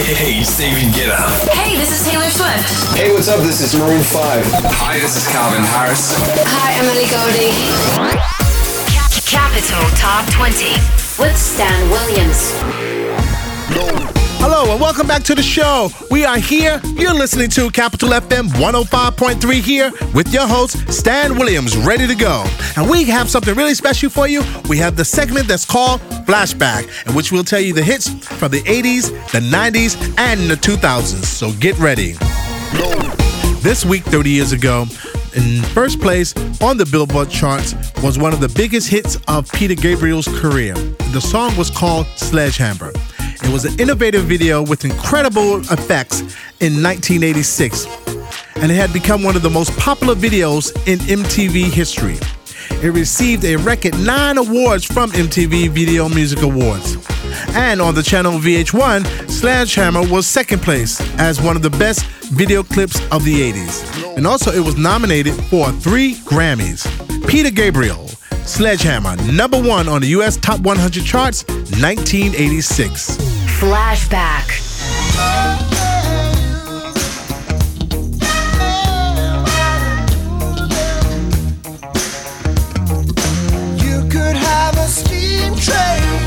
Hey, Steven Guetta. Hey, this is Taylor Swift. Hey, what's up? This is Maroon 5. Hi, this is Calvin Harris. Hi, Emily Goldie. Capital Top 20 with Stan Williams. Hello and welcome back to the show. We are here. You're listening to Capital FM 105.3 here with your host, Stan Williams, ready to go. And we have something really special for you. We have the segment that's called Flashback, in which we'll tell you the hits from the 80s, the 90s, and the 2000s. So get ready. This week, 30 years ago, in first place on the Billboard charts was one of the biggest hits of Peter Gabriel's career. The song was called Sledgehammer. It was an innovative video with incredible effects in 1986, and it had become one of the most popular videos in MTV history. It received a record 9 awards from MTV Video Music Awards. And on the channel VH1, Sledgehammer was second place as one of the best video clips of the 80s. And also it was nominated for 3 Grammys. Peter Gabriel, Sledgehammer, number 1 on the US Top 100 charts, 1986. Flashback. You could have a steam train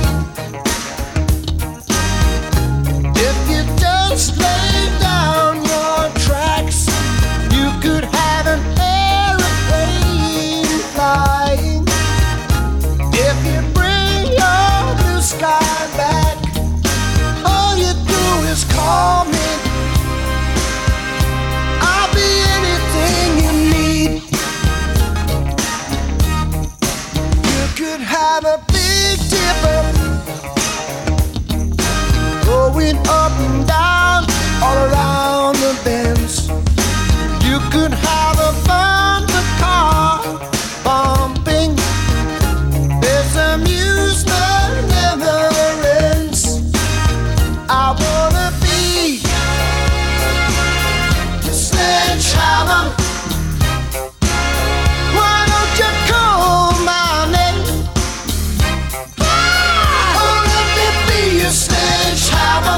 if you just lay down your tracks. You could have an airplane flying if you bring your blue sky back. All you do is call me. I'll be anything you need. You could have a big dipper going up and down all around the bends. You could have a bumper car bumping. This amusement never ends. I wanna be the sledgehammer. Why don't you call my name? Oh, let me be your sledgehammer.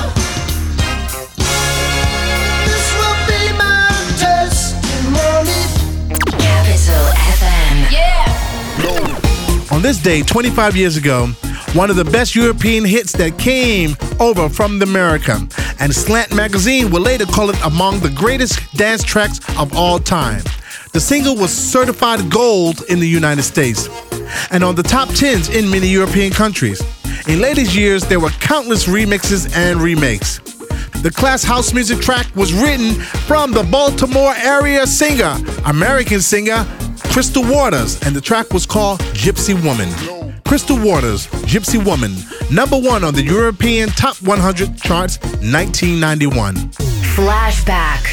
This will be my testimony. Capital FM. Yeah. On this day, 25 years ago, one of the best European hits that came over from America, and Slant Magazine would later call it among the greatest dance tracks of all time. The single was certified gold in the United States and on the top 10s in many European countries. In later years, there were countless remixes and remakes. The class house music track was written from the Baltimore area singer, American singer, Crystal Waters, and the track was called Gypsy Woman. Crystal Waters, Gypsy Woman, number 1 on the European Top 100 charts, 1991. Flashback.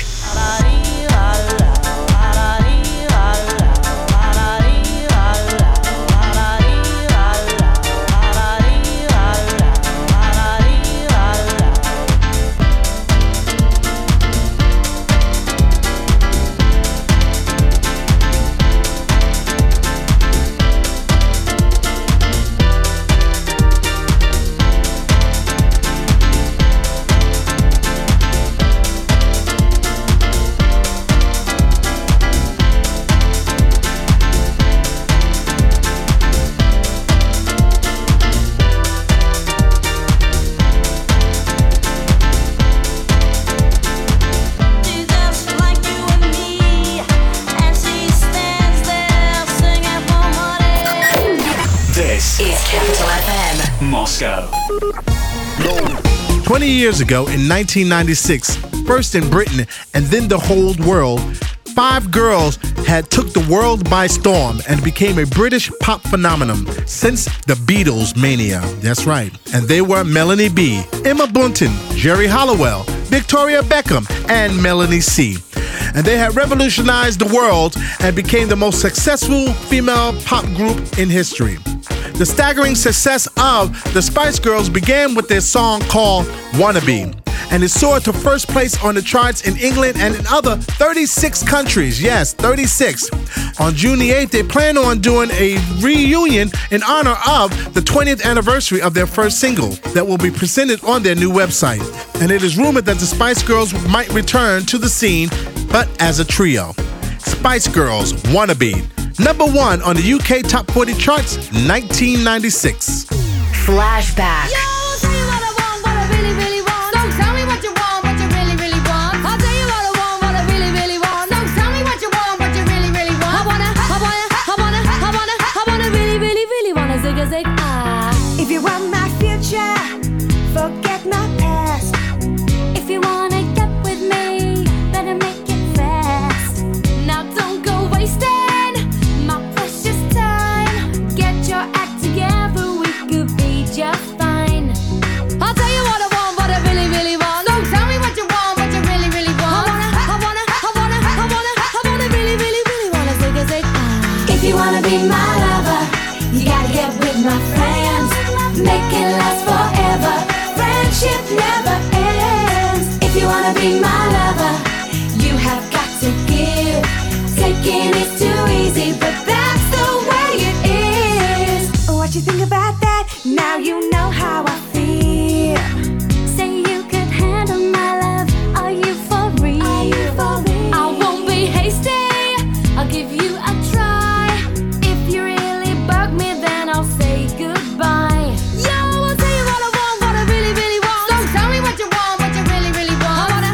Is Capital FM Moscow. 20 years ago, in 1996, first in Britain and then the whole world, 5 girls had took the world by storm and became a British pop phenomenon since the Beatles mania. That's right. And they were Melanie B, Emma Bunton, Jerry Halliwell, Victoria Beckham, and Melanie C. And they had revolutionized the world and became the most successful female pop group in history. The staggering success of the Spice Girls began with their song called Wannabe. and it soared to first place on the charts in England and in other 36 countries. Yes, 36. On June the 8th, they plan on doing a reunion in honor of the 20th anniversary of their first single that will be presented on their new website. And it is rumored that the Spice Girls might return to the scene, but as a trio. Spice Girls, Wannabe. Number 1 on the UK Top 40 charts, 1996. Flashback. Yo, I'll tell you what I want, what I really, really want. Don't tell me what you want, what you really, really want. I'll tell you what I want, what I really, really want. Don't tell me what you want, what you really, really want. I wanna really, really, really wanna zig a zig ah. If you want my future, forget my past. If you wanna get with me, better make it fast. Now don't go wasting my precious time. Get your act together, we could be just fine. I'll tell you what I want, what I really, really want. Don't tell me what you want, what you really, really want. I wanna really, really, really wanna zig a zig ah. If you wanna be my lover, you gotta get with my friends. Make it last forever. Friendship never ends. If you wanna be my lover, you have got to give. Taking is too easy, but that's the way it is. What you think about that? Now you know how I feel. Say you could handle my love. Are you for real? Are you for real? I won't be hasty. I'll give you a try. If you really bug me, then I'll say goodbye. Yo, I'll tell you what I want, what I really, really want. Don't tell me what you want, what you really, really want. I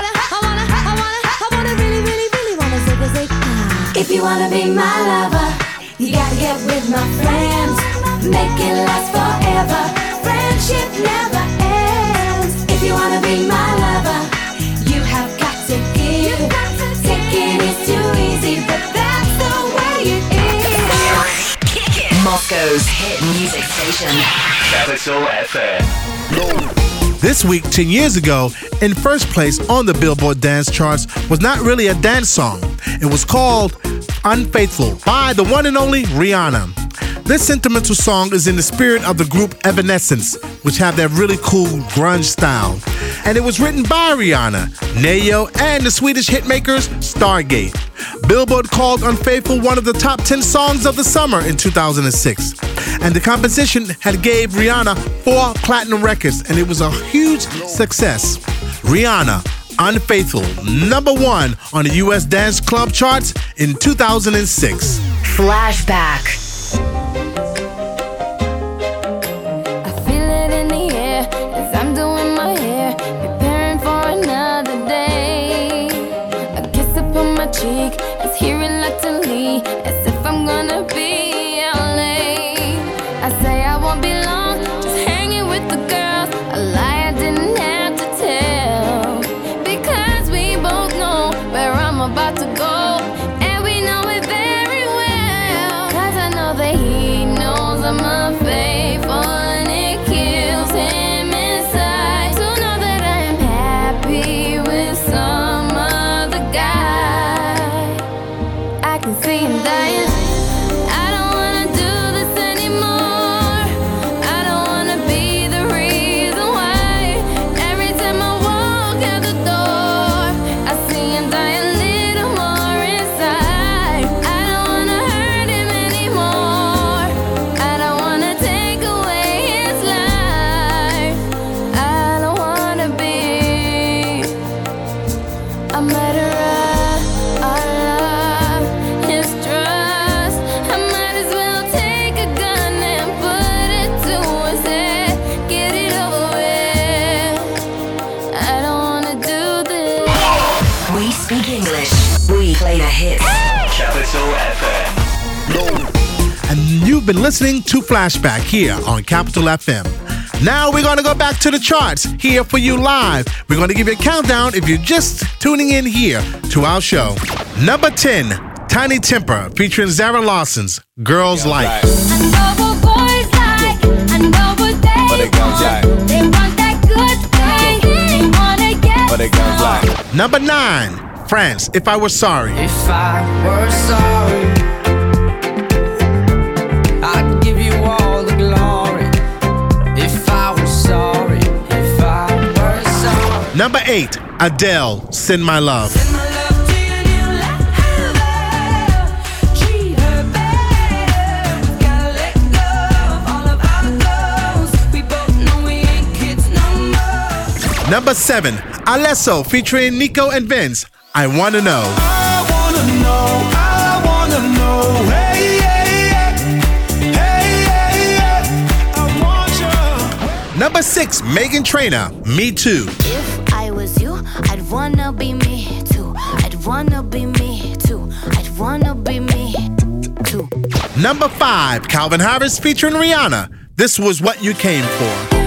wanna really, really, really wanna zig a zig ah. If you wanna be my lover, you gotta get with my friends. Make it last forever. Friendship never ends. If you wanna be my lover, you have got to give. Taking is too easy, but that's the way it is. Moscow's hit music station. Capital FM. This week, 10 years ago, in first place on the Billboard dance charts was not really a dance song. It was called Unfaithful by the one and only Rihanna. This sentimental song is in the spirit of the group Evanescence, which have that really cool grunge style. And it was written by Rihanna, Neo, and the Swedish hitmakers Stargate. Billboard called Unfaithful one of the top 10 songs of the summer in 2006. And the composition had gave Rihanna 4 platinum records, and it was a huge success. Rihanna, Unfaithful, number 1 on the US dance club charts in 2006. Flashback. I feel it in the air as I'm doing my hair, preparing for another day. A kiss upon my cheek is here reluctantly, as if I'm gonna be out late. I say I won't be long, just hanging with the girls. A lie I didn't have to tell, because we both know where I'm about to go, and we know it very well. 'Cause I know that he knows I'm unfaithful, and it kills him inside to know that I am happy with some other guy. I can see him dying. I don't wanna do this anymore. I don't wanna be the reason why. Every time I walk out the door, I see him die a little more inside. I don't wanna hurt him anymore. I don't wanna take away his life. I don't wanna be a murderer. Our love, his trust. I might as well take a gun and put it to his head. Get it over with. I don't wanna do this. We speak English. We play the hits. Capital FM. And you've been listening to Flashback here on Capital FM. Now we're going to go back to the charts here for you live. We're going to give you a countdown if you're just tuning in here to our show. Number 10, Tiny Temper featuring Zara Larson's Girls Like. I know what boys like. I know what they want. They want that good thing. They wanna get Number 9, France, If I Were Sorry. If I were sorry, I'd give you all the glory. If I were sorry, if I were sorry. Number 8, Adele, Send My Love. Number 7, Alesso featuring Nico and Vince, I Wanna Know. I wanna know, I wanna know, hey, yeah, yeah. Hey, yeah, yeah. I want you. Number 6, Meghan Trainor, Me Too. If I was you, I'd wanna be me too. I'd wanna be me too. I'd wanna be me too. Number 5, Calvin Harris featuring Rihanna, This Was What You Came For.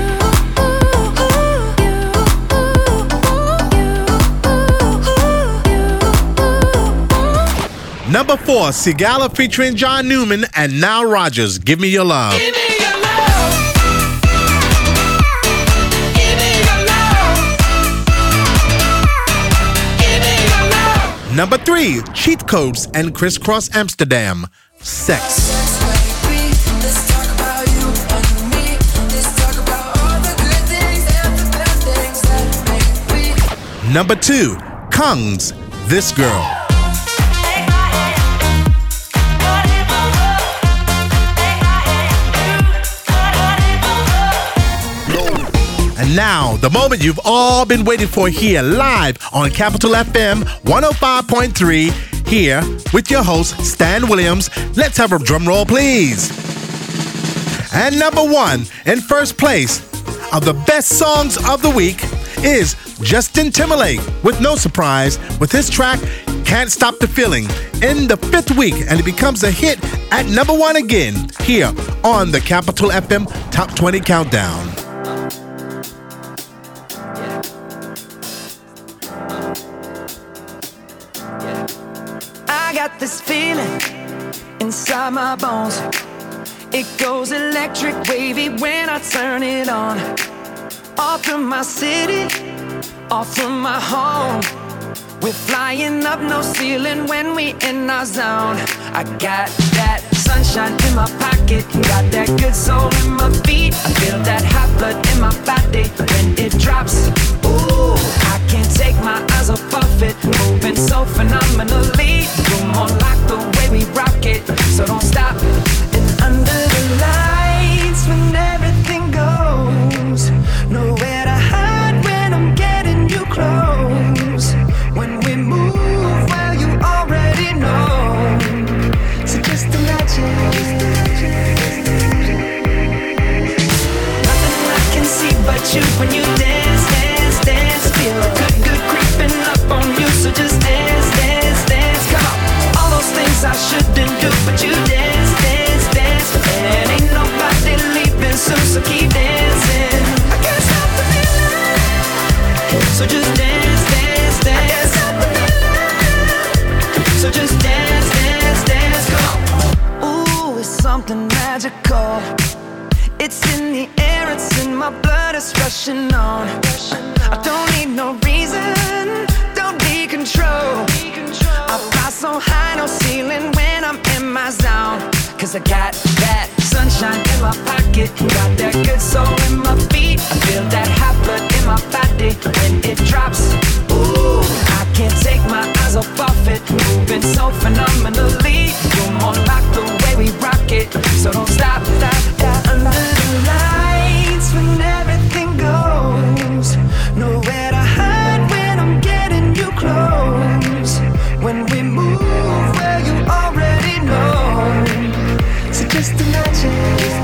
Number 4, Sigala featuring John Newman and Nile Rodgers, Give Me Your Love. Give me your love. Give me your love. Give me your love. Number 3, Cheat Codes and Crisscross Amsterdam, Sex. Let's talk about you and me. Let's talk about all the good things and the bad things that make me. Number 2, Kungs, This Girl. And now, the moment you've all been waiting for here live on Capital FM 105.3, here with your host, Stan Williams. Let's have a drum roll, please. And number 1, in first place of the best songs of the week is Justin Timberlake, with no surprise, with his track, Can't Stop the Feeling, in the 5th week, and it becomes a hit at number 1 again, here on the Capital FM Top 20 Countdown. I got this feeling inside my bones. It goes electric wavy when I turn it on. Off from my city, off from my home. We're flying up no ceiling when we in our zone. I got that sunshine in my pocket, got that good soul in my feet. I feel that hot blood in my body when it drops. Ooh, I can't take my eyes off of it, moving so phenomenally. You're more like the way we rock it, so don't stop. And under the lights when everything goes, nowhere to hide when I'm getting you close. When we move, well, you already know. So just imagine. Nothing I can see but you when you dance, dance, dance. Feel good creeping up on you. So just dance, dance, dance. Come on. All those things I shouldn't do, but you dance, dance, dance. And ain't nobody leaving soon, so keep dancing. I can't stop the feeling. So just dance, dance, dance. So just dance, dance, dance, come on. Ooh, it's something magical. It's in the air, it's in my blood, it's rushing on. I don't need no reason, don't need control. I fly so high, no ceiling when I'm in my zone. Cause I got that sunshine in my pocket, got that good soul in my feet. I feel that hot blood in my body when it drops. Ooh, I can't take my eyes off of it, moving so phenomenally. You're more like the way we rock it, so don't stop, stop, stop. Under the lights when everything goes, nowhere to hide when I'm getting you close. When we move, well, you already know. So just imagine.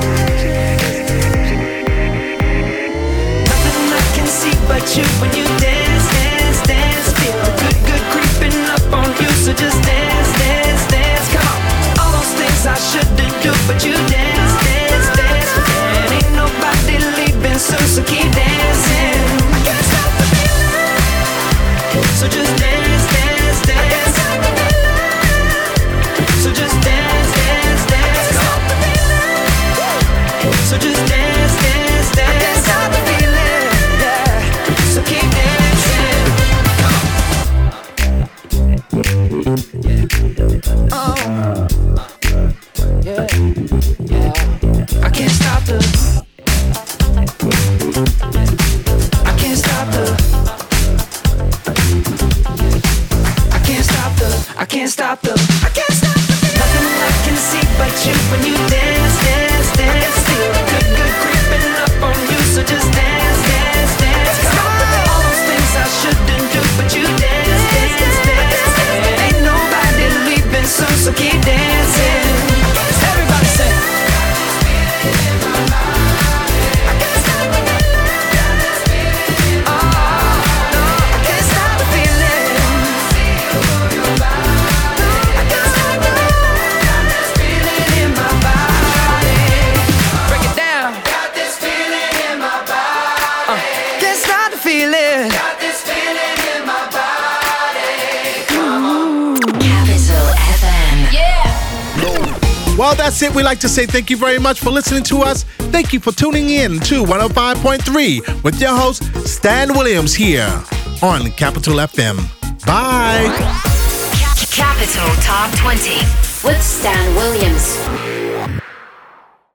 Nothing I can see but you when you dance, dance, dance. Feel good creeping up on you. So just dance, dance, dance. Come on. All those things I shouldn't do, but you dance, dance, dance. And ain't nobody leaving soon, so keep dancing. I can't stop the feeling. So just dance, dance, dance. So just dance, dance, dance. So just dance, dance, dance. I can't stop the feeling, yeah. So keep dancing. Oh, yeah, yeah. I can't stop the. I can't stop the. Well, that's it. We'd like to say thank you very much for listening to us. Thank you for tuning in to 105.3 with your host, Stan Williams, here on Capital FM. Bye. Capital Top 20 with Stan Williams.